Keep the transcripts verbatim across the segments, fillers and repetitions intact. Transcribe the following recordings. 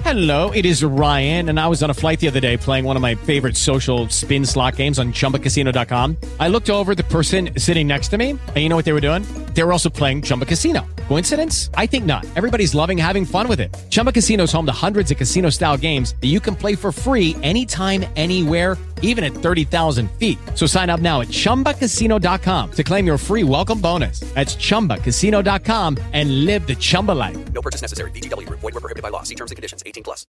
Hello, it is Ryan, and I was on a flight the other day playing one of my favorite social spin slot games on Chumba Casino dot com. I looked over at the person sitting next to me, and you know what they were doing? They were also playing Chumba Casino. Coincidence? I think not. Everybody's loving having fun with it. Chumba Casino is home to hundreds of casino-style games that you can play for free anytime, anywhere, even at thirty thousand feet. So sign up now at Chumba Casino dot com to claim your free welcome bonus. That's Chumba Casino dot com and live the Chumba life. No purchase necessary. V G W. Void where prohibited by law. See terms and conditions. eighteen plus.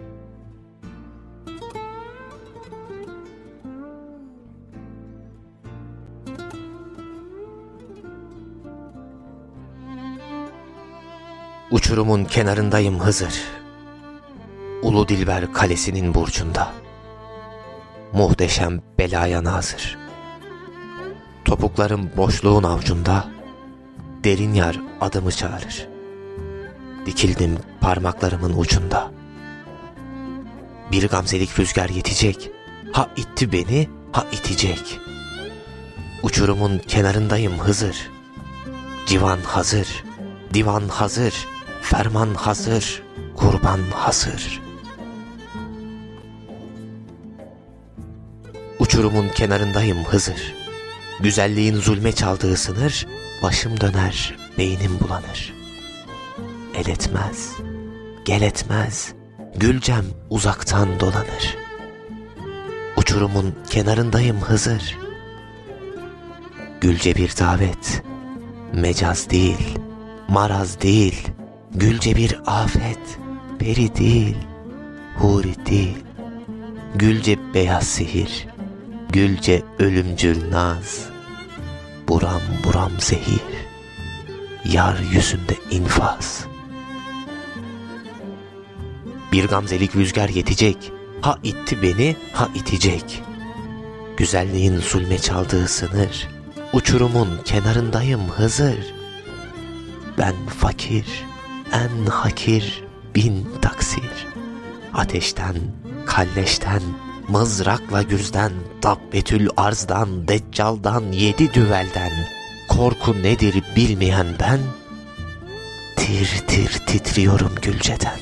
Uçurumun kenarındayım Hızır. Ulu Dilber kalesinin burcunda. Muhteşem belaya nazır. Topuklarım boşluğun avcunda. Derin yar adımı çağırır. Dikildim parmaklarımın ucunda. Bir gamzelik rüzgar yetecek. Ha itti beni, ha itecek. Uçurumun kenarındayım Hızır. Civan hazır, divan hazır, ferman hazır, kurban hazır. Uçurumun kenarındayım Hızır. Güzelliğin zulme çaldığı sınır, başım döner, beynim bulanır. El etmez, gel etmez, Gülcem uzaktan dolanır. Uçurumun kenarındayım Hızır. Gülce bir davet, mecaz değil, maraz değil, Gülce bir afet, peri değil, huri değil. Gülce beyaz sihir, Gülce ölümcül naz, buram buram zehir, yar yüzünde infaz. Bir gamzelik rüzgar yetecek, ha itti beni, ha itecek. Güzelliğin zulme çaldığı sınır, uçurumun kenarındayım Hızır. Ben fakir, en hakir bin taksir. Ateşten, kalleşten, mızrakla gürzden, dabbetül arzdan, deccaldan, yedi düvelden, korku nedir bilmeyen ben, tir tir titriyorum Gülce'den.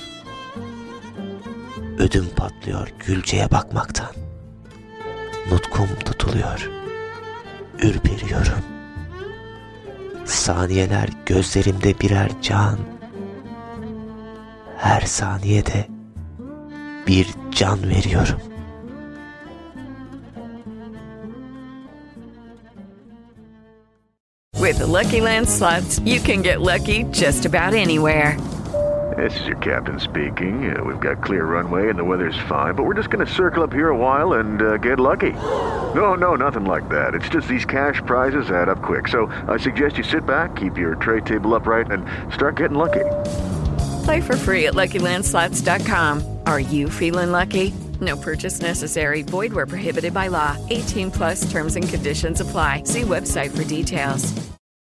Ödüm patlıyor Gülce'ye bakmaktan. Nutkum tutuluyor, ürperiyorum. Saniyeler gözlerimde birer can. Her saniyede bir can veriyorum. With the Lucky Land Slots, you can get lucky just about anywhere. This is your captain speaking. Uh, we've got clear runway and the weather's fine, but we're just going to circle up here a while and uh, get lucky. No, no, nothing like that. It's just these cash prizes add up quick. So I suggest you sit back, keep your tray table upright, and start getting lucky. Play for free at Lucky Land Slots dot com. Are you feeling lucky? No purchase necessary. Void where prohibited by law. eighteen plus terms and conditions apply. See website for details.